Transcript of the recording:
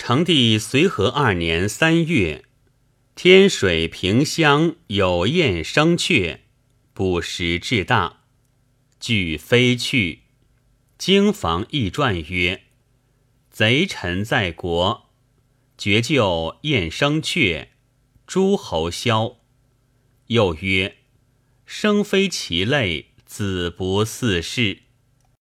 成帝随和2年3月，天水平乡有燕生雀，不时至大，俱飞去。经房议传曰：贼臣在国，绝救燕生雀，诸侯枭。又曰：生非其类，子不嗣世。